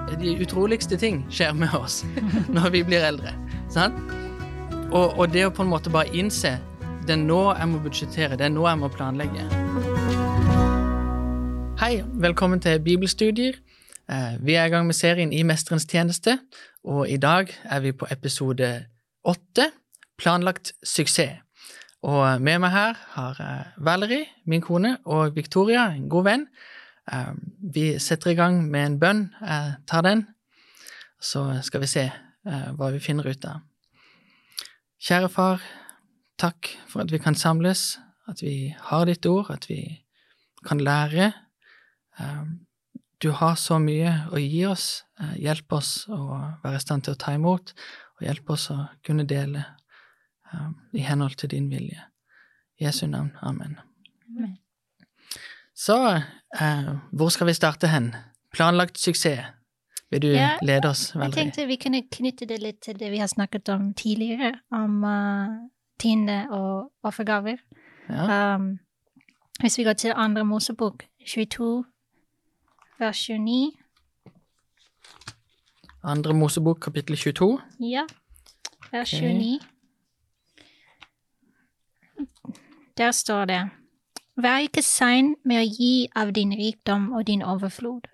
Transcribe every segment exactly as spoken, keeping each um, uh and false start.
de utroligste ting skjer med oss når vi blir eldre, sant? Og, og det å på en måte bare innse, det er nå jeg må budsjettere, det er nå jeg må planlegge. Hei, velkommen til Bibelstudier. Vi er i gang med serien I Mesterens tjeneste, og i dag er vi på episode åtte, planlagt suksess. Og med meg her har Valerie, min kone, og Victoria, en god venn. Vi setter i gang med en bønn, jeg tar den, så skal vi se hva vi finner ut av. Kjære far, takk for at vi kan samles, at vi har ditt ord, at vi kan lære. Du har så mye å gi oss, hjelp oss å være i stand til å ta imot, og hjelp oss å kunne dele i henhold til din vilje. I Jesu navn, amen. Amen. Så, eh, hvor skal vi starte hen? Planlagt suksess. Vil du ja, lede oss, Valerie? Jeg tenkte vi kunne knytte det litt til det vi har snakket om tidligere, om uh, tiende og offergaver. Ja. Um, hvis vi går til andre Mosebok, tjueto, vers tjueni. Andre Mosebok, kapittel tjueto. Ja, vers Okay. tjueni. Der står det, vær ikke sein med å gi av din rikdom og din overflod.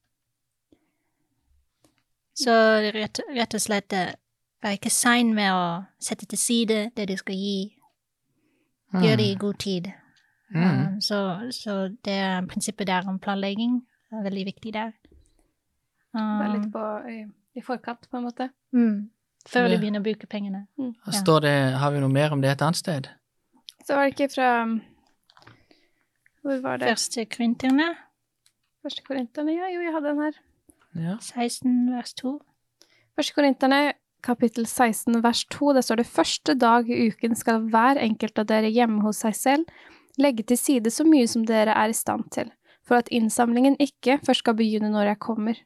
Så rett, rett og slett, vær ikke sein med å sette til side det du skal gi. Gjør det i god tid. Mm. Um, så, så det er prinsippet der om planlegging er veldig viktig der. Um, Vær litt på, i, i forkant, på en måte. Mm, før Ja. du begynner å bruke pengene. Mm. Ja. Står det, har vi noe mer om det et annet sted? Så var det ikke fra... Hvor var det? Første Korinterne, Første Korinterne, ja, jo, jeg hadde den her. Ja. seksten, vers to. Første Korinterne, kapittel seksten, vers to, det står det, første dag i uken skal hver enkelt av dere hjemme hos seg selv legge til side så mye som dere er i stand til, for at innsamlingen ikke først skal begynne når jeg kommer.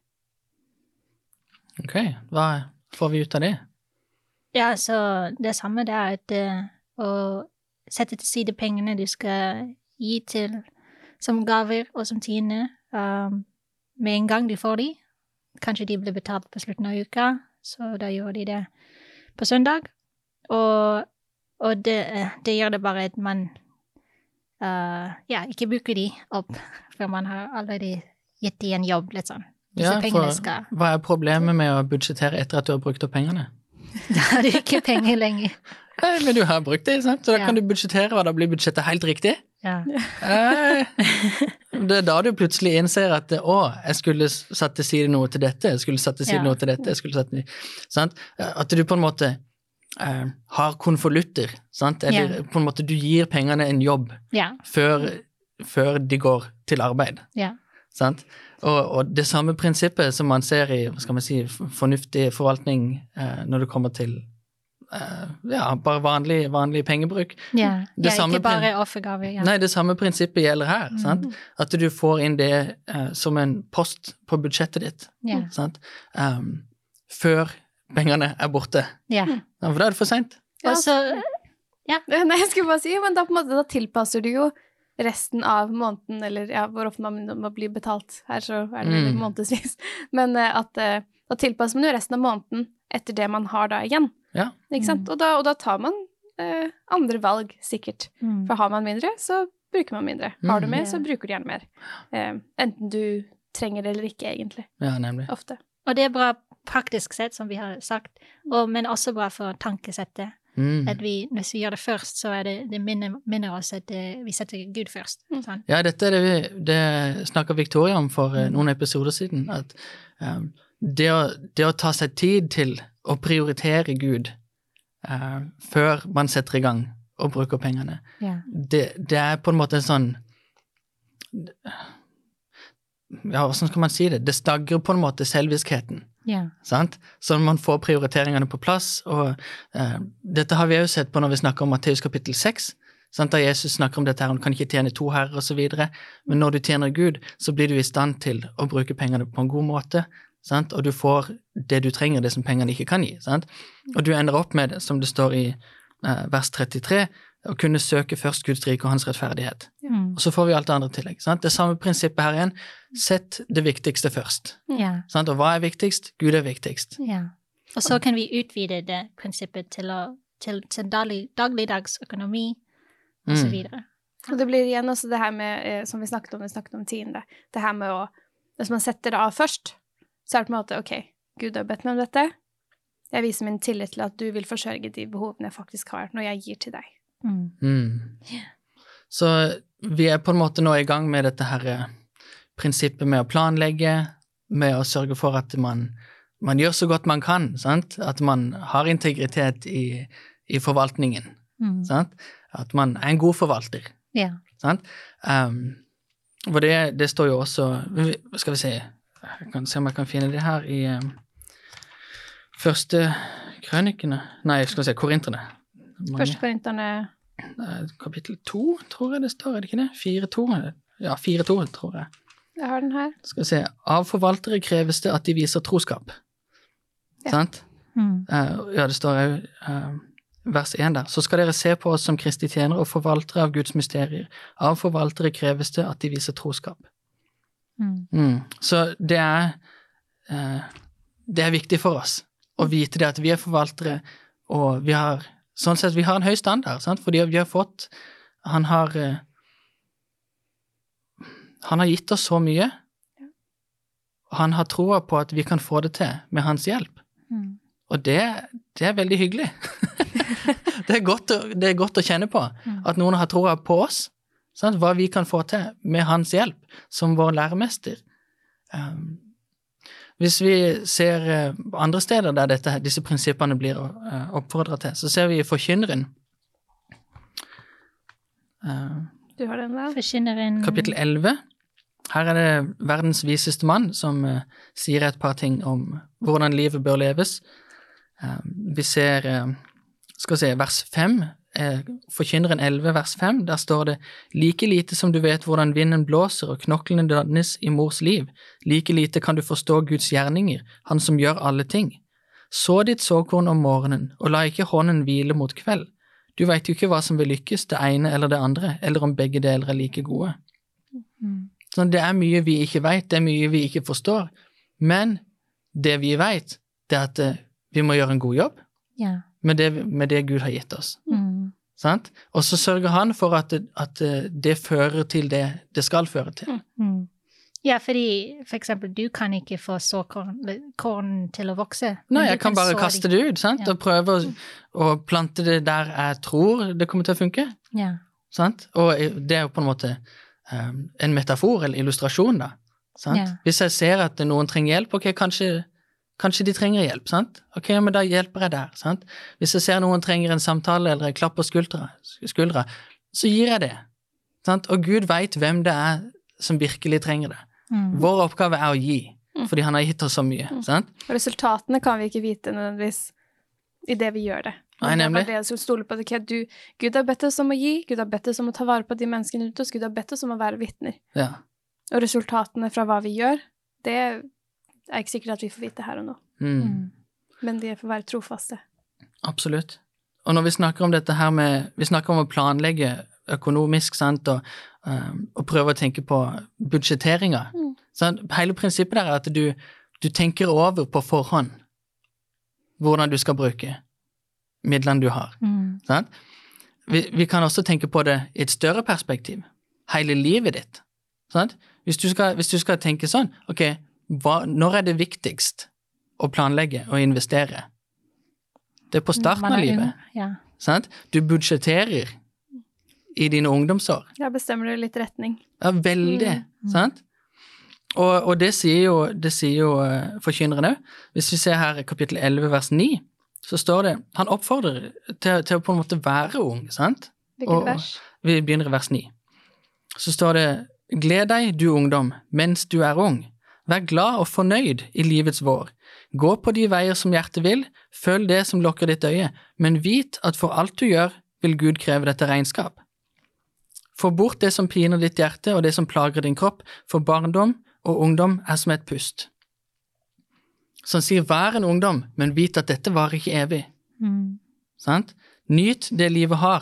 Ok, hva får vi ut av det? Ja, så det samme der, at uh, å sette til side pengene du skal gi til som gaver og som tiende, um, med en gang de får de. Kanskje de blir betalt på slutten av uka, så da gjør de det på søndag. Og, og det, det gjør det bare at man uh, ja, ikke bruker de opp, for man har allerede gitt de en jobb, litt sånn. Disse Ja, pengene for skal... hva er problemet med å budsjettere etter at du har brukt opp pengene? Da har du ikke penger lenger. Nei, men du har brukt det, sant? Så da Ja. kan du budsjettere, og da blir budsjettet helt riktig. Ja. Eh, det er da du plutselig innser at å, jeg skulle satt til side noe til dette, jeg skulle satt til side Ja. noe til dette, jeg skulle satt til, sant? At du på en måte eh, har konvolutter, sant? Eller Ja. på en måte du gir pengene en jobb Ja. før, før de går til arbeid, Ja. sant? Og, og det samme prinsippet som man ser i, hva skal man si, fornuftig forvaltning eh, når det kommer til Uh, ja, bare vanlig, vanlig pengebruk. Ja, Det ja samme ikke bare offergaver. Ja. Nei, det samme prinsippet gjelder her, Mm. sant? At du får inn det uh, som en post på budsjettet ditt, Ja. sant? Um, før pengene er borte. Ja. Ja, for da er det for sent. Og så, Nei, jeg skulle bare si, men da, på en måte, da tilpasser du jo resten av måneden, eller ja, hvor ofte man må bli betalt her, så er det Mm. mm. månedsvis. Men uh, at uh, da tilpasser man jo resten av måneden etter det man har da igjen. Ja. Ikke sant? Og, da, og da tar man uh, andre valg, sikkert. mm. For har man mindre, så bruker man mindre. Har du Mm. mer, Ja. så bruker du gjerne mer. Uh, enten du trenger det eller ikke, egentlig. Ja, nemlig. Ofte. Og det er bra praktisk sett, som vi har sagt, og, men også bra for tankesettet. Mm. At vi, hvis vi gjør det først, så er det, det minner, minner oss at det, vi setter Gud først. Mm. Sånn. Ja, dette er det vi, det snakker Victoria om for uh, noen episoder siden, at um, det, å, det å ta seg tid til å prioritere Gud uh, før man setter i gang og bruker pengene, Ja. det, det er på en måte en sånn, ja, hvordan skal man si det? Det stagger på en måte selvviskheten, Ja. sant? Så man får prioriteringene på plass, og uh, dette har vi jo sett på når vi snakker om Matteus kapittel seks, sant? Da Jesus snakker om dette her, han kan ikke tjene to herrer og så videre, men når du tjener Gud, så blir du i stand til å bruke pengene på en god måte, sant? Og du får det du trenger, det som pengene ikke kan gi, sant? Og du ender opp med det, som det står i uh, vers trettitre, å kunne søke først Guds rike og hans rettferdighet. Mm. Og så får vi alt det andre i tillegg. Sant? Det samme prinsippet her igjen. Sett det viktigste først. Ja. Sant? Og hva er viktigst? Gud er viktigst. Ja. Og så kan vi utvide det prinsippet til, å, til, til daglig, dagligdags økonomi, og så videre. Og det blir igjen også det her med, eh, som vi snakket om, vi snakket om tiende, det her med å, hvis man setter det av først, så er det på en måte, ok, Gud har bedt meg om dette, jeg viser min tillit til at du vil forsørge de behovene jeg faktisk har, når jeg gir til deg. Mm. Mm. Yeah. Så vi er på en måte nå i gang med dette her eh, prinsippet med å planlegge, med å sørge for at man, man gjør så godt man kan, sant? At man har integritet i, i forvaltningen, Mm. sant? At man er en god forvalter. Ja. Sant? Um, og det, det står jo også, skal vi se, jeg kan se om jeg kan finne det her i um, første krønikene, nei, skal vi se, korinterne. Mange, Første korinterne, kapittel to, tror jeg det står, er det ikke det? fire to, ja, fire to, tror jeg. jeg har den her. Skal vi se, av forvaltere kreves det at de viser troskap. Ja. Sant? Mm. Uh, ja, det står jo, uh, vers én der. Så skal dere se på oss som Kristi tjenere og forvaltere av Guds mysterier. Av forvaltere kreves det at de viser troskap. Mm. Mm. Så det er, uh, det er viktig for oss å vite det at vi er forvaltere, og vi har, sånn sett, vi har en høy standard, sant? Fordi vi har fått, han har, uh, han har gitt oss så mye, og han har troa på at vi kan få det til med hans hjelp. Mm. Og det, det er veldig hyggelig. det, er godt å, det er godt å kjenne på, Mm. at noen har troa på oss, sant? Hva vi kan få til med hans hjelp, som vår læremester. Um, hvis vi ser uh, andre steder der dette, disse prinsippene blir uh, oppfordret til, så ser vi i Forkynneren, uh, Du har den der? Forkynneren. kapittel elleve. Her er det verdens viseste mann som uh, sier et par ting om hvordan livet bør leves. Uh, vi ser, uh, skal vi se, vers fem, uh, Forkynneren elleve, vers fem, der står det: like lite som du vet hvordan vinden blåser og knoklene dannes i mors liv, like lite kan du forstå Guds gjerninger, han som gjør alle ting. Så ditt såkorn om morgenen, og la ikke hånden hvile mot kveld. Du vet jo ikke hva som vil lykkes, det ene eller det andre, eller om begge deler er like gode. Mm. Så det er mye vi ikke vet, det er mye vi ikke forstår, men det vi vet, det er at uh, vi må gjøre en god jobb Ja. med det, med det Gud har gitt oss. Mm. Sant? Og så sørger han for at, at uh, det fører til det det skal føre til. Mm. Ja, fordi for eksempel du kan ikke få såkorn korn til å vokse. men Nei, du jeg kan bare så kaste de. det ut, sant? Ja. Og prøve å, å plante det der jeg tror det kommer til å funke. Ja. Sant? Og det er jo på en måte um, en metafor eller illustrasjon da. Sant? Ja. Hvis jeg ser at noen trenger hjelp, ok, kanskje, kanskje de trenger hjelp, sant? Ok, men da hjelper jeg der, sant? Hvis jeg ser noen trenger en samtale eller en klapp på skuldra, skuldra så gir jeg det, sant? Og Gud vet hvem det er som virkelig trenger det. Mm. Vår oppgave er å gi, fordi han har gitt oss så mye, sant? Og resultatene kan vi ikke vite nødvendigvis i det vi gjør det. Nei, nemlig. Det er bare det å stole på det. Okay, du, Gud har bedt oss om å gi, Gud har bedt oss om å ta vare på de menneskene rundt oss, Gud har bedt oss om å være vitner. Ja. Og resultatene fra hva vi gjør, det er ikke sikkert at vi får vite her og nå. Mm. Mm. Men de får være trofaste. Absolutt. Og når vi snakker om dette her med, vi snakker om å planlegge økonomisk, sant, og, um, og prøve å tenke på budsjetteringer. Mm. Sant? Hele prinsippet der er at du, du tenker over på forhånd hvordan du skal bruke midlene du har. Mm. Sant? Vi, vi kan også tenke på det i et større perspektiv. Hele livet ditt. Sant? Hvis du skal, hvis du skal tenke sånn, ok, hva, når er det viktigst å planlegge og investere? Det er på starten Man av er livet. ung, Ja. Sant? Du budsjetterer i dine ungdomsår. Da bestemmer du litt retning. Ja, veldig, sant? Og, og det sier jo, det sier jo uh, forkynneren også. Hvis vi ser her i kapittel elleve, vers ni, så står det, han oppfordrer til, til å på en måte være ung, sant? Hvilket Og- vers? Vi begynner i vers ni. Så står det, gled deg, du ungdom, mens du er ung. Vær glad og fornøyd i livets vår. Gå på de veier som hjertet vil, følg det som lokker ditt øye, men vit at for alt du gjør, vil Gud kreve dette regnskap. Få bort det som piner ditt hjerte og det som plager din kropp, for barndom og ungdom er som et pust. Så han sier, vær en ungdom, men vit at dette varer ikke evig. Mm. Sant? Nyt det livet har,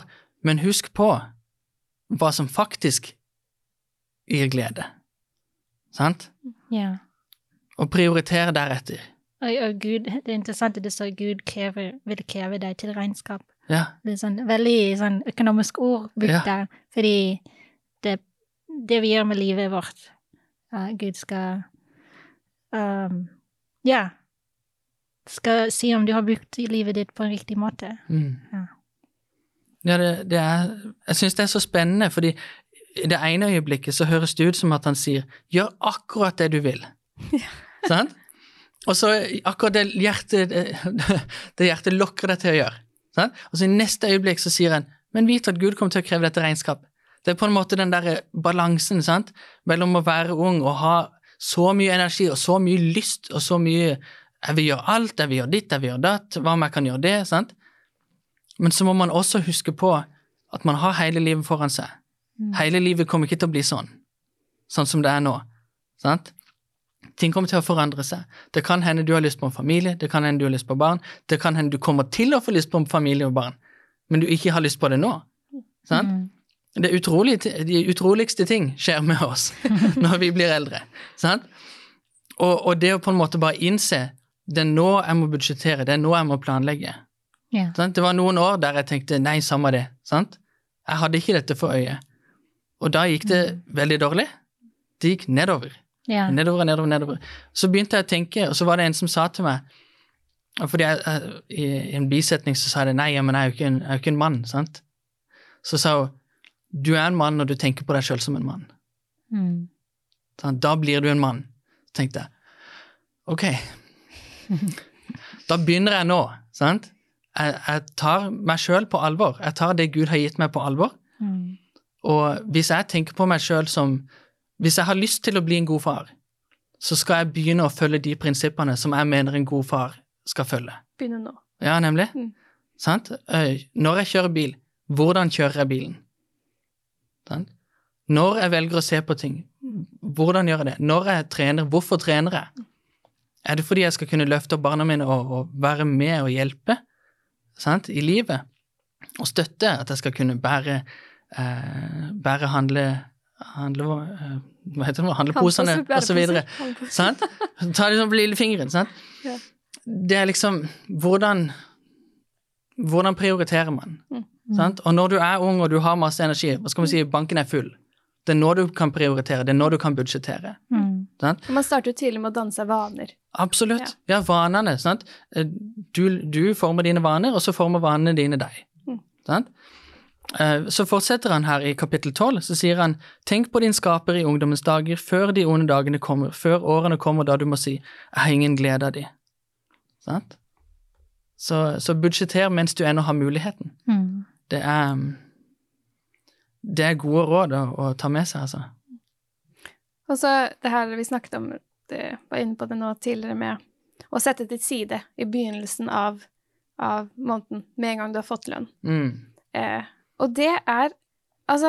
men husk på hva som faktisk gir glede. Sant? Ja. Og prioritere deretter. Og, og Gud, det er interessant at det står Gud krever, vil kreve deg til regnskap. Ja. Det er sånn veldig sånn økonomisk ord brukt Ja. der, fordi det, det vi gjør med livet vårt, uh, Gud skal um, ja, skal si om du har brukt livet ditt på en riktig måte. Mm. Ja. Ja, det, det er, jeg synes det er så spennende, fordi i det ene øyeblikket så høres det ut som at han sier, gjør akkurat det du vil. Ja. Sant? Og så akkurat det hjertet, det, det hjertet lokker deg til å gjøre. Sant? Og så i neste øyeblikk så sier han, men vit at Gud kommer til å kreve dette regnskap. Det er på en måte den der balansen, sant? Mellom å være ung og ha så mye energi og så mye lyst og så mye, jeg vil gjøre alt, jeg vil gjøre ditt, jeg vil gjøre datt, hva om jeg kan gjøre det, sant? Men så må man også huske på at man har hele livet foran seg. Mm. Hele livet kommer ikke til å bli sånn, sånn som det er nå, sant? Ting kommer til å forandre seg. Det kan hende du har lyst på en familie, det kan hende du har lyst på barn, det kan hende du kommer til å få lyst på en familie og barn, men du ikke har lyst på det nå, sant? Mm. Det utrolig, de utroligste ting skjer med oss når vi blir eldre, sant? Og, og det å på en måte bare innse, det er nå jeg må budsjettere, det er nå jeg må planlegge. Ja. Det var noen år der jeg tenkte, nei, samme det, sant? Jeg hadde ikke dette for øye. Og da gikk det mm. veldig dårlig. Det gikk nedover. Ja. Nedover, nedover, nedover. Så begynte jeg å tenke, og så var det en som sa til meg, fordi jeg, jeg, i en bisetning så sa jeg, nei, men jeg er jo ikke en, jeg er jo ikke en mann, sant? Så sa hun, du er en mann når du tenker på deg selv som en mann. Mm. Sånn, da blir du en mann. Så tenkte jeg, ok, da begynner jeg nå, sant? Jeg, jeg tar meg selv på alvor. Jeg tar det Gud har gitt meg på alvor. Mm. Og hvis jeg tenker på meg selv som, hvis jeg har lyst til å bli en god far, så skal jeg begynne å følge de prinsippene som jeg mener en god far skal følge. Begynne nå. Ja, nemlig. Mm. Sant? Når jeg kjører bil, hvordan kjører jeg bilen? Sant? Når jeg velger å se på ting, hvordan gjør jeg det? Når jeg trener, hvorfor trener jeg? Er det fordi jeg skal kunne løfte opp barna mine og, og være med og hjelpe, sant? I livet? Og støtte at jeg skal kunne bære, eh, bære handle, handle, eh, hva heter det, handleposene og så videre. Sant? Ta det som på lillefingeren, sant? Ja. Det er liksom, hvordan, hvordan prioriterer man? Mm. Sant? Og når du er ung og du har masse energi, hva skal man si, banken er full. Det er når du kan prioritere, det er når du kan budsjettere. Mm. Sant? Man starter jo tidlig med å danse vaner. Absolutt. Ja, ja vanene, sant? Du, du former dine vaner, og så former vanene dine deg. Mm. Sant? Så fortsetter han her i kapittel tolv, så sier han, tenk på din skaper i ungdommens dager, før de onde dagene kommer, før årene kommer da du må si, jeg har ingen glede av de. Sant? Så, så budsjetter mens du ennå har muligheten. Mm. Det er, det er gode råd å, å ta med seg, altså. Og så det her vi snakket om, det var inne på det nå tidligere med å sette til side i begynnelsen av, av måneden, med en gang du har fått lønn. Mm. Eh, og det er, altså,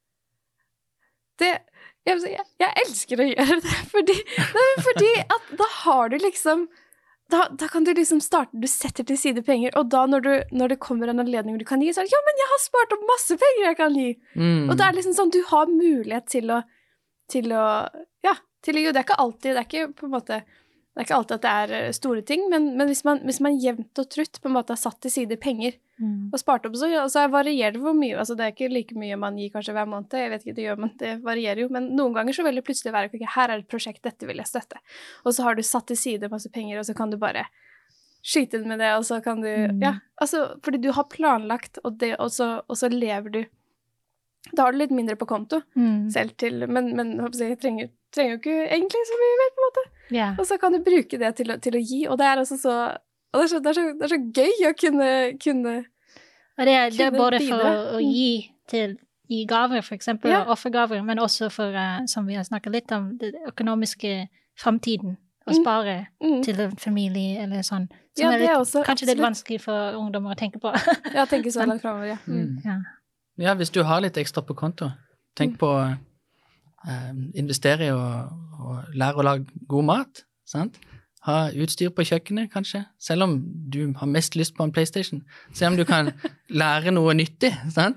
det, jeg, jeg elsker å gjøre det, fordi, nei, fordi at da har du liksom, Da, da kan du liksom starte, du setter til side penger, og da når, du, når det kommer en anledning du kan gi, så er det, ja, men jeg har spart opp masse penger jeg kan gi. Mm. Og det er liksom sånn, du har mulighet til å, til å, ja, til å gi, det er ikke alltid, det er ikke på en måte, det er ikke alltid at det er store ting, men, men hvis, man, hvis man jevnt og trutt på en måte har satt til side penger, mm. og spart opp, så, så varierer det hvor mye, altså det er ikke like mye man gir kanskje hver måned, jeg vet ikke, det gjør man, det varierer jo, men noen ganger så vil det plutselig være, ok, her er et prosjekt, dette vil jeg støtte, og så har du satt til side masse penger, og så kan du bare skyte med det, og så kan du, mm. ja, altså, fordi du har planlagt, og, det, og, så, og så lever du, da har du litt mindre på konto, mm. selv til, men, men jeg trenger, trenger jo ikke egentlig så mye mer på en måte, yeah. og så kan du bruke det til å, til å gi, og det er altså så, og det er så, det er så, det er så gøy å kunne, kunne og det er, det er både for å, å gi til, gi gaver for eksempel, ja. offergaver, men også for, uh, som vi har snakket litt om, det økonomiske fremtiden, å spare mm. Mm. til en familie eller sånn, som ja, er, litt, er også, kanskje absolutt. Litt vanskelig for ungdommer å tenke på. Ja, tenke så langt fremover, ja. Mm. ja. Ja, hvis du har litt ekstra på konto, tenk på å uh, investere i å, å lære å lage god mat, sant? Ha utstyr på kjøkkenet, kanskje, selv om du har mest lyst på en PlayStation. Se om du kan lære noe nyttig, sant?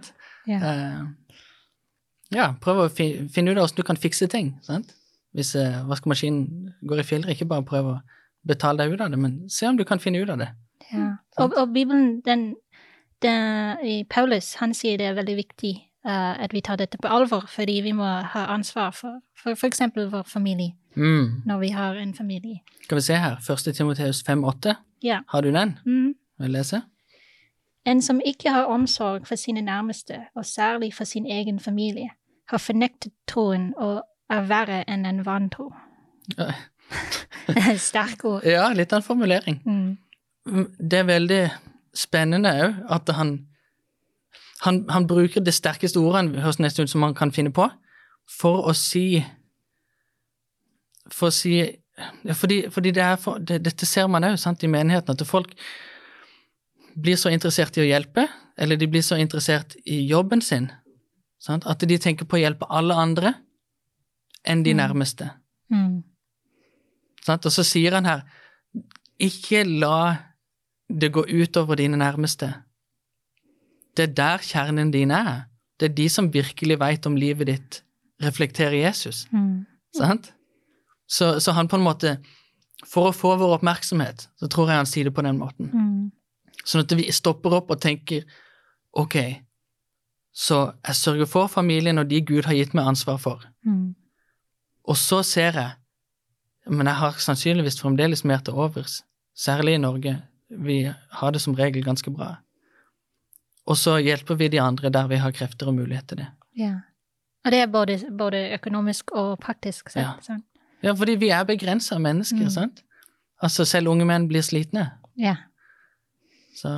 Ja. Eh, ja, prøv å fi, finne ut av hvordan du kan fikse ting, sant? Hvis eh, vaskemaskinen går i filler, ikke bare prøv å betale deg ut av det, men se om du kan finne ut av det. Ja. Og, og Bibelen, den, den, i Paulus, han sier det er veldig viktig uh, at vi tar dette på alvor, fordi vi må ha ansvar for, for, for eksempel vår familie, Mm. når vi har en familie. Skal vi se her, første Timoteus fem åtte. Ja. Har du den? Mm. Vil jeg lese? En som ikke har omsorg for sine nærmeste, og særlig for sin egen familie, har fornektet troen og er verre enn en vantro. Ja. Sterk ord. Ja, litt av en formulering. Mm. Det er veldig spennende også, at han, han, han bruker det sterkeste ordet, høres nesten ut som han kan finne på, for å si, for å si, ja, fordi, fordi det er for, det, dette ser man også, sant, i menigheten, at folk blir så interessert i å hjelpe, eller de blir så interessert i jobben sin, sant, at de tenker på å hjelpe alle andre enn de nærmeste. Mm. Sant? Og så sier han her, ikke la det gå ut over dine nærmeste. Det er der kjernen din er. Det er de som virkelig vet om livet ditt reflekterer Jesus. Mm. Sant? Så, så han på en måte, for å få vår oppmerksomhet, så tror jeg han sier det på den måten. Mm. Sånn at vi stopper opp og tenker, ok, så jeg sørger for familien og de Gud har gitt meg ansvar for. Mm. Og så ser jeg, men jeg har sannsynligvis fremdeles mer til overs, særlig i Norge. Vi har det som regel ganske bra. Og så hjelper vi de andre der vi har krefter og mulighet til det. Ja. Og det er både, både økonomisk og praktisk sett. Ja. Sånn. Ja, fordi vi er begrenset av mennesker, Mm. sant? Altså, selv unge menn blir slitne. Ja. Så,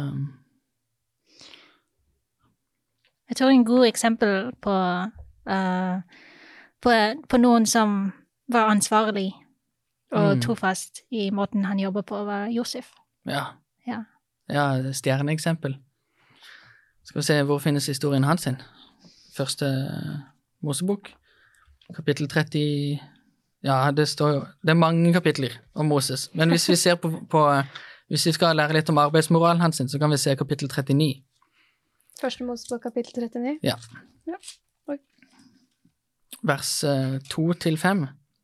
Jeg tror en god eksempel på, uh, på, på noen som var ansvarlig og Mm. trofast i måten han jobber på, var Josef. ja. Ja. Ja, stjerneeksempel. Skal vi se, hvor finnes historien hans sin? Første Mosebok, kapittel tretti, ja, det står jo, det er mange kapitler om Moses, men hvis vi ser på, på hvis vi skal lære litt om arbeidsmoralen hans sin, så kan vi se kapittel trettini. Første Mosebok kapittel trettini. Ja. Ja. Oi. Vers eh, to til fem.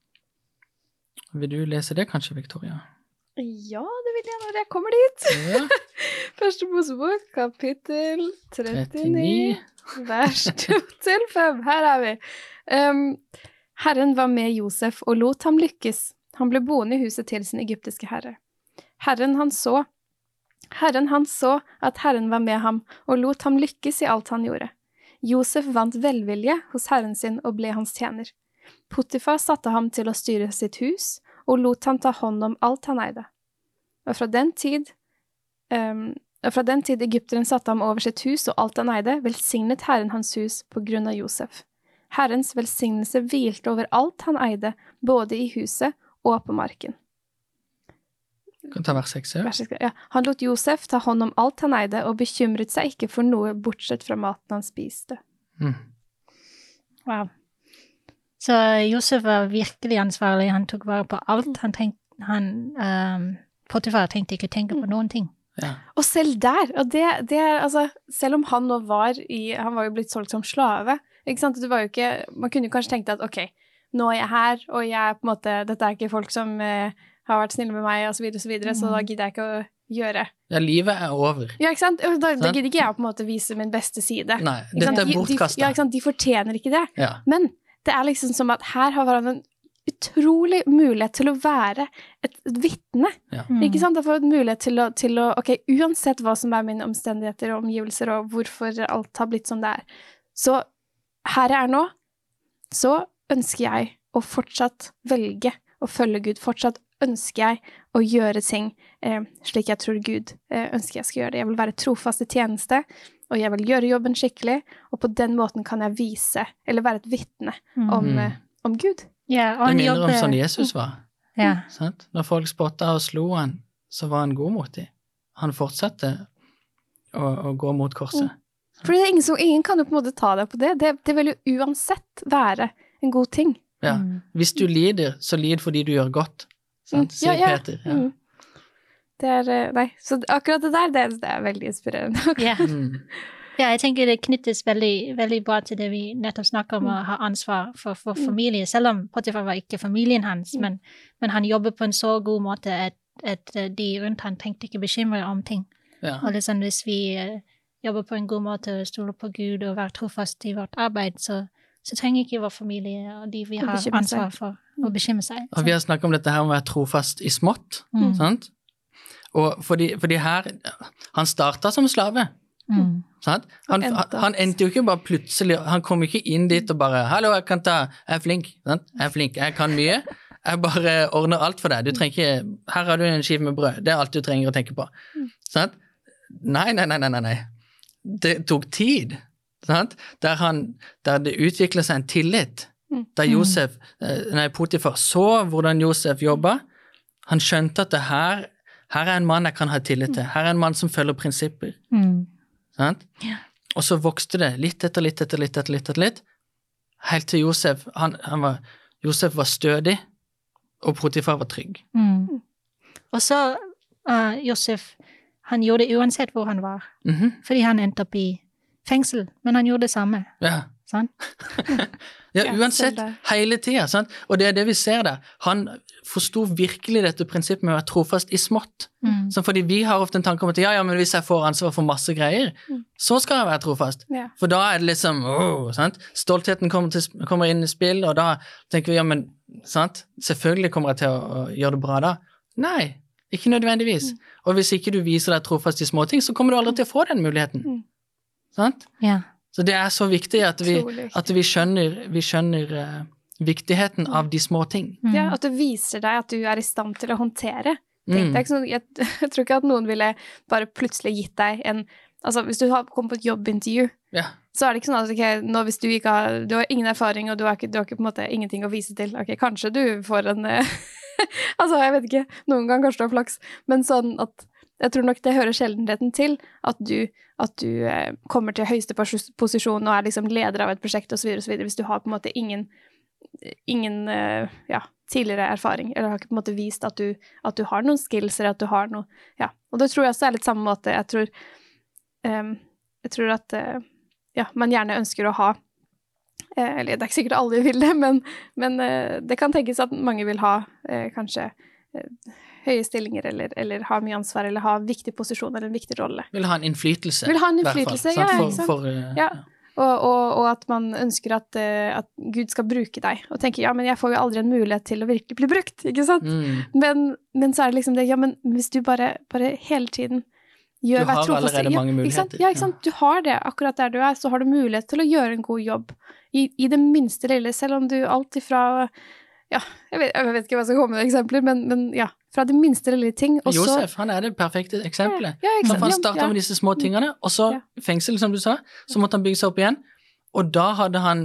Vil du lese det kanskje, Victoria? Ja, det vil jeg når jeg kommer dit. Ja. Første Mosebok kapittel trettini, trettini. vers to til fem. Her er vi. Um, Herren var med Josef og lot ham lykkes. Han ble boende i huset til sin egyptiske herre. Herren han så, Herren han så at Herren var med ham og lot ham lykkes i alt han gjorde. Josef vant velvilje hos Herren sin og ble hans tjener. Potifar satte ham til å styre sitt hus og lot ham ta hånd om alt han eide. Og fra den tid, um, og fra den tid Egypteren satte ham over sitt hus og alt han eide, velsignet Herren hans hus på grunn av Josef. Herrens velsignelse hvilte over alt han eide, både i huset og på marken. Kan ta vers seks, ja. Vær så snill. Ja. Han lot Josef ta hånd om alt han eide, og bekymret seg ikke for noe bortsett fra maten han spiste. Mm. Wow. Så Josef var virkelig ansvarlig. Han tok vare på alt. Han tenkte, han, um, Potifar tenkte ikke tenke på noen ting. Ja. Og selv der, og det, det er, altså, selv om han nå var i, han var jo blitt solgt som slave, ikke sant? Det var jo ikke, man kunne jo kanskje tenkt at, ok, nå er jeg her, og jeg er på en måte, dette er ikke folk som eh, har vært snille med meg, og så videre, og så videre, mm. så da gidder jeg ikke å gjøre. Ja, livet er over. Ja, ikke sant? Da, da gidder ikke jeg å på en måte vise min beste side. Nei, Ikke sant? dette er De- bortkastet. De, ja, ikke sant? De fortjener ikke det. Ja. Men det er liksom som at her har han en utrolig mulighet til å være et, et vittne. Ja. Mm. Ikke sant? Da får du en mulighet til å, til å, ok, uansett hva som er mine omstendigheter og omgivelser, og hvorfor alt har blitt som det er. Så her jeg er nå, så ønsker jeg å fortsatt velge å følge Gud. Fortsatt ønsker jeg å gjøre ting eh, slik jeg tror Gud eh, ønsker jeg skal gjøre det. Jeg vil være trofast i tjeneste, og jeg vil gjøre jobben skikkelig, og på den måten kan jeg vise, eller være et vittne om, Mm. eh, om Gud. Ja, og Det han minner om jobber... sånn Jesus var. Ja. Sant? Når folk spottet og slo han, så var han god mot dem. Han fortsatte å, å gå mot korset. Fordi det er ingen, som, ingen kan jo på en måte ta deg på det. Det, det vil jo uansett være en god ting. Ja. Mm. Hvis du lider, så lid fordi du gjør godt. Sant? Mm. Sier Ja, ja. Peter. Ja. Mm. Det er, eh, nei, så akkurat det der, det, det er veldig inspirerende. Ja. Mm. Ja, jeg tenker det knyttes veldig, veldig bra til det vi nettopp snakker om, å ha ansvar for, for familie, selv om Potifar var ikke familien hans, mm. men, men han jobber på en så god måte at, at de rundt han trengte ikke bekymre om ting. Ja. Og liksom, hvis vi uh, jobber på en god måte og stoler på Gud og være trofast i vårt arbeid, så, så trenger ikke vår familie og de vi har ansvar for å bekymre seg. Og vi har snakket om dette her om å være trofast i smått, mm. sant? Og fordi, fordi her, han startet som slave, mm. sant? Han, han, han endte jo ikke bare plutselig, han kom ikke inn dit og bare, hallo, jeg kan ta, jeg er flink, sant? Jeg er flink, jeg kan mye, jeg bare ordner alt for deg, du trenger ikke, her har du en skive med brød, det er alt du trenger å tenke på, sant? Nei, nei, nei, nei, nei, det tok tid, sant? Der, han, der det utviklet seg en tillit, der Josef, nei, Potifar så hvordan Josef jobbet, han skjønte at det her, her er en mann jeg kan ha tillit til, her er en mann som følger prinsipper, mm. sant? Ja. Og så vokste det litt etter litt etter litt etter litt etter litt, helt til Josef, han, han var, Josef var stødig, og Potifar var trygg. Mm. Og så uh, Josef, han gjorde det uansett hvor han var, mm-hmm. fordi han endte opp i fengsel, men han gjorde det samme. Ja. Sant? Ja, uansett, hele tiden, sant? Og det er det vi ser der. Han forstod virkelig dette prinsippet med å være trofast i smått. Mm. Så fordi vi har ofte en tanke om at ja, ja, men hvis jeg får ansvar for masse greier, mm. så skal jeg være trofast. Yeah. For da er det liksom, åh, sant? Stoltheten kommer, til, kommer inn i spill, og da tenker vi, ja, men, sant? Selvfølgelig kommer jeg til å, å gjøre det bra da. Nei, ikke nødvendigvis. Mm. Og hvis ikke du viser deg trofast i små ting, så kommer du aldri til å få den muligheten. Mm. Sant? Ja. Så det er så viktig at vi, at vi skjønner, vi skjønner uh, viktigheten mm. av de små ting. Mm. Ja, at det viser deg at du er i stand til å håndtere. Mm. Det er ikke sånn, jeg, jeg tror ikke at noen ville bare plutselig gitt deg en, altså hvis du har kommet på et jobbintervju, ja. så er det ikke sånn at okay, nå hvis du ikke har, du har ingen erfaring og du har ikke, du har ikke på en måte ingenting å vise til, ok, kanskje du får en, altså jeg vet ikke, noen gang kanskje du har flaks, men sånn at jeg tror nok det hører sjeldenheten til at du, at du eh, kommer til høyeste posisjon og er liksom leder av et prosjekt og så videre og så videre, hvis du har på en måte ingen, ingen eh, ja, tidligere erfaring, eller har ikke på en måte vist at du, at du har noen skills, eller at du har noe, ja. Og det tror jeg også er litt samme måte, jeg tror, um, jeg tror at, uh, ja, man gjerne ønsker å ha, uh, eller det er ikke sikkert alle vil det, men, men uh, det kan tenkes at mange vil ha uh, kanskje uh, høye stillinger, eller, eller ha mye ansvar, eller ha viktig posisjon, eller en viktig rolle. Vil ha en innflytelse. Vil ha en innflytelse, ja, for, ikke sant? For, uh, ja. Og, og, og at man ønsker at, uh, at Gud skal bruke deg, og tenker, ja, men jeg får jo aldri en mulighet til å virkelig bli brukt, ikke sant? Mm. Men, men så er det liksom det, ja, men hvis du bare, bare hele tiden gjør hver trofast... Du har allerede mange ja, muligheter. Ikke sant? Ja, ikke sant? Du har det, akkurat der du er, så har du mulighet til å gjøre en god jobb, i, i det minste lille, selv om du alt ifra... Ja, jeg vet, jeg vet ikke hva jeg skal komme med eksempler, men, men ja, fra de minste lille ting. Og Josef, så, han er det perfekte eksempelet. Ja, ja, han startet ja. med disse små tingene, og så ja. fengsel, som du sa, så måtte han bygge seg opp igjen, og da hadde han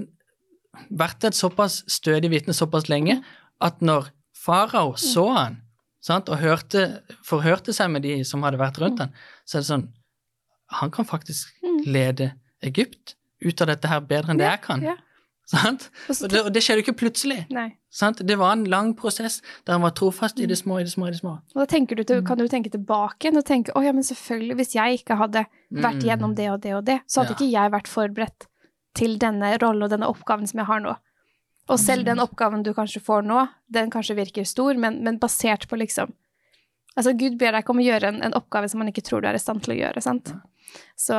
vært et såpass stødig vitne såpass lenge, at når farao så han, sant, og hørte, forhørte seg med de som hadde vært rundt han, så er det sånn, han kan faktisk lede Egypt ut av dette her bedre enn det jeg kan. Ja. Sant? Og det, og det skjedde jo ikke plutselig. Nei. Sant? Det var en lang prosess der han var trofast i det små, i det små, i det små. Og da tenker du til, kan du tenke tilbake og tenke, åh ja, men selvfølgelig, hvis jeg ikke hadde vært gjennom det og det og det, så hadde ja. ikke jeg vært forberedt til denne rollen og denne oppgaven som jeg har nå. Og selv den oppgaven du kanskje får nå, den kanskje virker stor, men, men basert på liksom, altså Gud ber deg ikke om å gjøre en, en oppgave som man ikke tror du er i stand til å gjøre, sant? Så,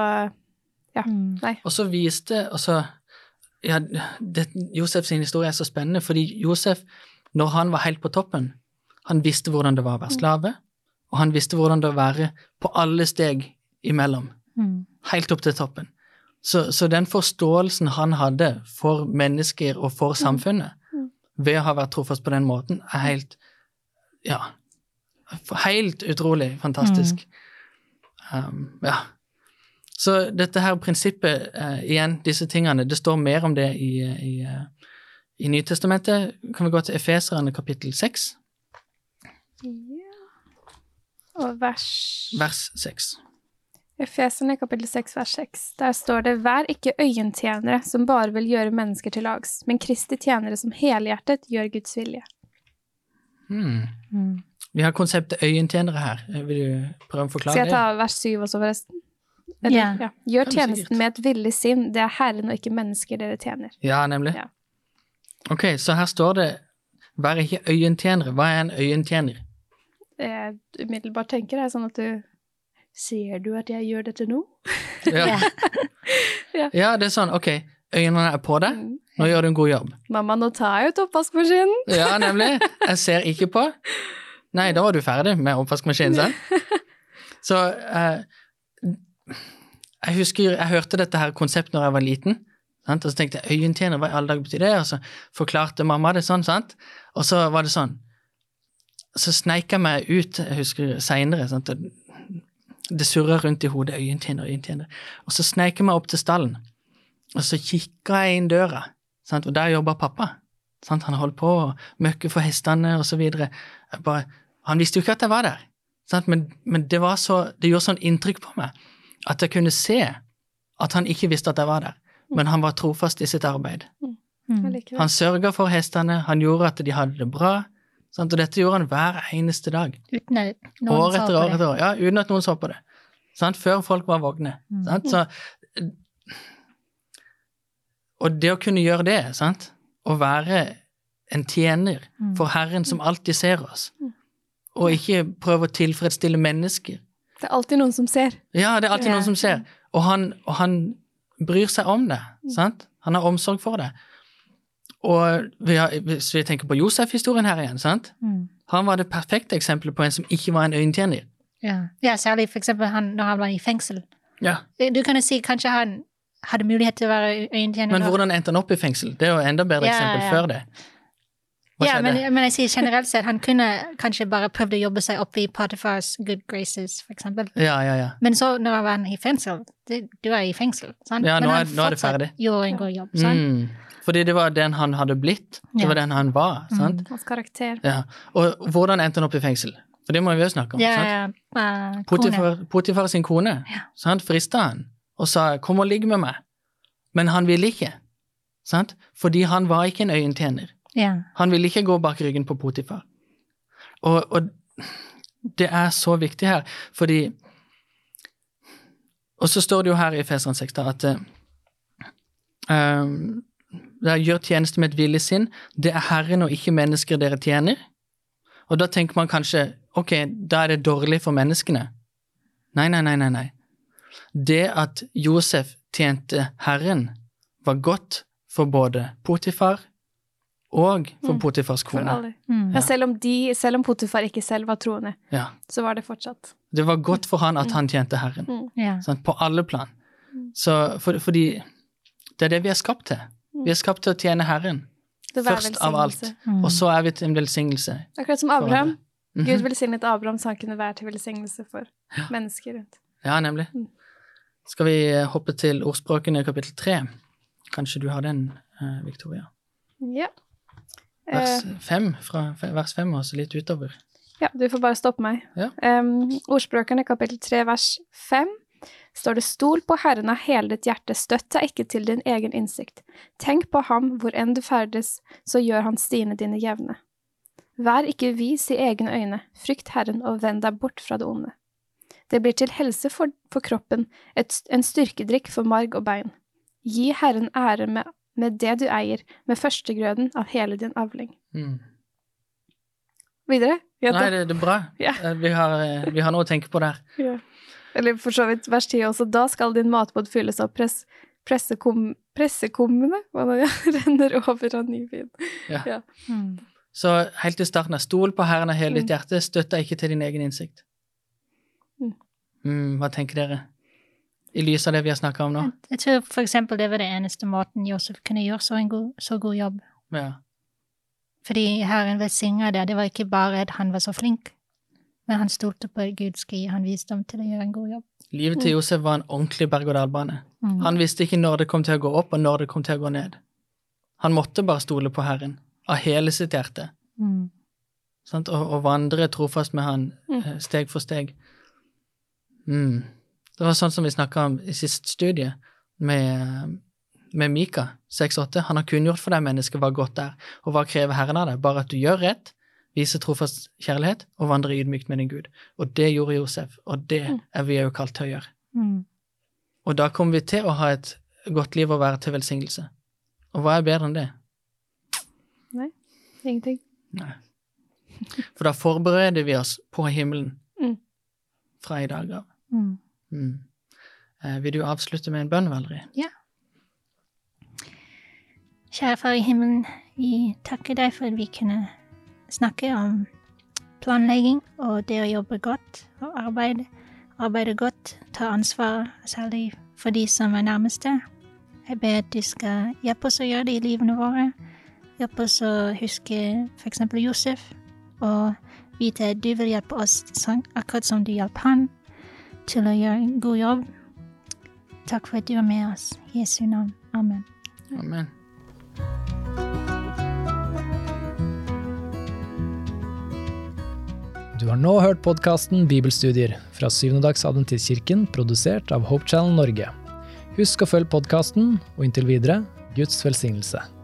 ja, nei. Og så viste, og så ja, det, Josefs historie er så spennende, fordi Josef, når han var helt på toppen, han visste hvordan det var å være slave, og han visste hvordan det var å være på alle steg imellom, mm. helt opp til toppen. Så, så den forståelsen han hadde for mennesker og for samfunnet, mm. ved å ha vært trofast på den måten, er helt, ja, helt utrolig fantastisk. Mm. Um, ja. Så dette her prinsippet, uh, igjen, disse tingene, det står mer om det i, i, uh, i Nytestamentet. Kan vi gå til Efeserne kapittel seks? Ja. Og vers... Vers seks. Efeserne kapittel seks, vers seks. Der står det, vær ikke øyentjenere som bare vil gjøre mennesker til lags, men Kristi tjenere som helhjertet gjør Guds vilje. Hmm. Mm. Vi har konseptet øyentjenere her. Vil du prøve å forklare det? Skal jeg ta vers syv også forresten? Eller, Ja. ja. Gjør Kan du tjenesten sikkert. med et villig sinn. Det er Herren og ikke mennesker dere tjener. Ja, nemlig. Ja. Ok, så her står det, vær ikke øyentjenere. Hva er en øyentjener? Det jeg umiddelbart tenker er sånn at du Ser du at jeg gjør dette nå? Ja. Ja. Ja, det er sånn, ok, øynene er på deg, Mm. nå gjør du en god jobb. Mamma, nå tar jeg ut oppvaskmaskinen. Ja, nemlig. Jeg ser ikke på. Nei, da var du ferdig med oppvaskmaskinen, sant? Så eh, jeg husker, jeg hørte dette her konsept når jeg var liten, sant? Og så tenkte jeg, øyentjener, hva i alle dager betyr det? Og så forklarte mamma det sånn, sant? Og så var det sånn, så sneik jeg meg ut, jeg husker senere, sant? Og det surret rundt i hodet, øyentjener, øyentjener. Og så sneik jeg meg opp til stallen, og så kikket jeg inn døra, sant? Og der jobbet pappa. Sant? Han holdt på å møkke for hestene og så videre. Jeg bare, han visste jo ikke at jeg var der, sant? Men, men det, var så, det gjorde sånn inntrykk på meg, at jeg kunne se at han ikke visste at jeg var der, men han var trofast i sitt arbeid. Mm. Jeg liker det. Han sørget for hestene, han gjorde at de hadde det bra, sant? Og dette gjorde han hver eneste dag. Uten at noen År så etter på år det. etter år, ja, uten at noen så på det. Sant? Før folk var vågne. Mm. Sant? Så, og det å kunne gjøre det, sant? Å være en tjener Mm. for Herren som alltid ser oss, og ikke prøve å tilfredsstille mennesker. Det er alltid noen som ser. Ja, det er alltid Ja. noen som ser. Og han, og han bryr seg om det, sant? Han har omsorg for det. Og vi har, hvis vi tenker på Josef-historien her igjen, sant? Mm. Han var det perfekte eksempelet på en som ikke var en øyentjener. Ja. ja, særlig for eksempel han, når han var i fengsel. Ja. Du kan jo si kanskje han hadde mulighet til å være øyentjener. Men da. hvordan endte han opp i fengsel? Det er jo enda bedre Ja, eksempel ja. før det. Hva Ja, skjedde? men, men jeg sier generelt sett, han kunne kanskje bare prøvd å jobbe seg opp i Potifars good graces, for eksempel. Ja, ja, ja. Men så når han var i fengsel, det, du er i fengsel, sant? Ja, men nå han er- nå er det fortsatt ferdig. gjorde en god jobb, sant? Mm. Fordi det var den han hadde blitt. Det Ja. var den han var, sant? Hans karakter. Ja. Og hvordan endte han opp i fengsel? For det må vi jo snakke om, Ja, sant? ja, uh, kone. Potifar, Potifar sin kone, Ja. sant? Fristet han og sa, kom og ligg med meg. Men han ville ikke, sant? Fordi han var ikke en øyentjener. Ja. Han ville ikke gå bak ryggen på Potifar. Og, og det er så viktig her, fordi og så står det jo her i Efeseren seks da, at um, det gjør tjeneste med et villig sinn, det er Herren og ikke mennesker dere tjener. Og da tenker man kanskje, ok, da er det dårlig for menneskene. Nei, nei, nei, nei, nei. Det at Josef tjente Herren var godt for både Potifar og for Mm. Potifars For kone. alle. Mm. Ja, selv om, de, selv om Potifar ikke selv var troende, Ja. så var det fortsatt. Det var godt for han at han tjente Herren. Mm. Ja. Sant? På alle plan. Mm. Så for, fordi det er det vi er skapt til. Vi er skapt til å tjene Herren. Det var Først av alt. velsignelse. Mm. Og så er vi til en velsignelse. Akkurat som for Abraham. alle. Mhm. Gud velsignet Abraham så han kunne være til velsignelse for mennesker rundt. Ja, nemlig. Mm. Skal vi eh, hoppe til ordspråkene i kapittel tre? Kanskje du har den, eh, Victoria? Ja. Vers Eh, fem, fra f- vers fem og så litt utover. ja, du får bare stoppe meg. Ja. Um, ordspråkene kapittel tre vers fem står det stol på Herren av hele ditt hjerte, støtt deg ikke til din egen innsikt. Tenk på ham hvor enn du ferdes, så gjør han stiene dine jevne. Vær ikke vis i egne øyne, frykt Herren og vend deg bort fra det onde. Det blir til helse for, for kroppen, et, en styrkedrikk for marg og bein. Gi Herren ære med, med det du eier, med førstegrøden av hele din avling. Mm. Videre? Gjenta. Nei, det, det er bra. Ja. Eh, Vi, har, eh, vi har noe å tenke på der. Ja. Eller for så vidt vers ti også. Da skal din matbod fylles av press, pressekom, pressekummene, hva nå, ja, renner over av ny vin. Ja. Mm. Så helt i starten av stol på Herren av hele ditt Mm. hjerte, støtt deg ikke til din egen innsikt. Mm. Mm, hva tenker dere? I lys av det vi har snakket om nå? Jeg tror for eksempel det var det eneste måten Josef kunne gjøre så en god, så god jobb. Ja. Fordi Herren velsigner det. Det var ikke bare at han var så flink, men han stolte på at Gud skulle gi han visdom til å gjøre en god jobb. Livet til Josef var en ordentlig berg-og-dal-bane. Mm. Han visste ikke når det kom til å gå opp, og når det kom til å gå ned. Han måtte bare stole på Herren, av hele sitt hjerte, Mm. sant? Og, og vandre trofast med han, Mm. eh, steg for steg. Mm. Det var sånn som vi snakket om i sist studie, med, med Mika, seks åtte. Han har kunngjort for deg mennesket hva godt er, og hva krever Herren av deg. Bare at du gjør rett, viser trofast kjærlighet, og vandrer ydmykt med din Gud. Og det gjorde Josef, og det Mm. er vi jo kalt til å gjøre. Mm. Og da kommer vi til å ha et godt liv og være til velsignelse. Og hva er bedre enn det? Nei, ingenting. Nei. For da forbereder vi oss på himmelen Mm. fra i dag av. Mm. Mm. Eh, vil du avslutte med en bønn, Valerie? Ja. Kjære Far i himmelen, vi takker deg for at vi kunne snakke om planlegging og det å jobbe godt og arbeide, arbeide godt, ta ansvar, særlig for de som er nærmeste. Jeg ber at du skal hjelpe oss å gjøre det i livene våre. Hjelpe oss å huske for eksempel Josef, og vite at du vil hjelpe oss akkurat som du hjelper han til å gjøre en god jobb. Takk for at du er med oss. I Jesu navn. Amen. Amen. Du har nå hørt podcasten Bibelstudier fra Syvnedags Adventistkirken, produsert av Hope Channel Norge. Husk å følge podcasten, og inntil videre, Guds velsignelse.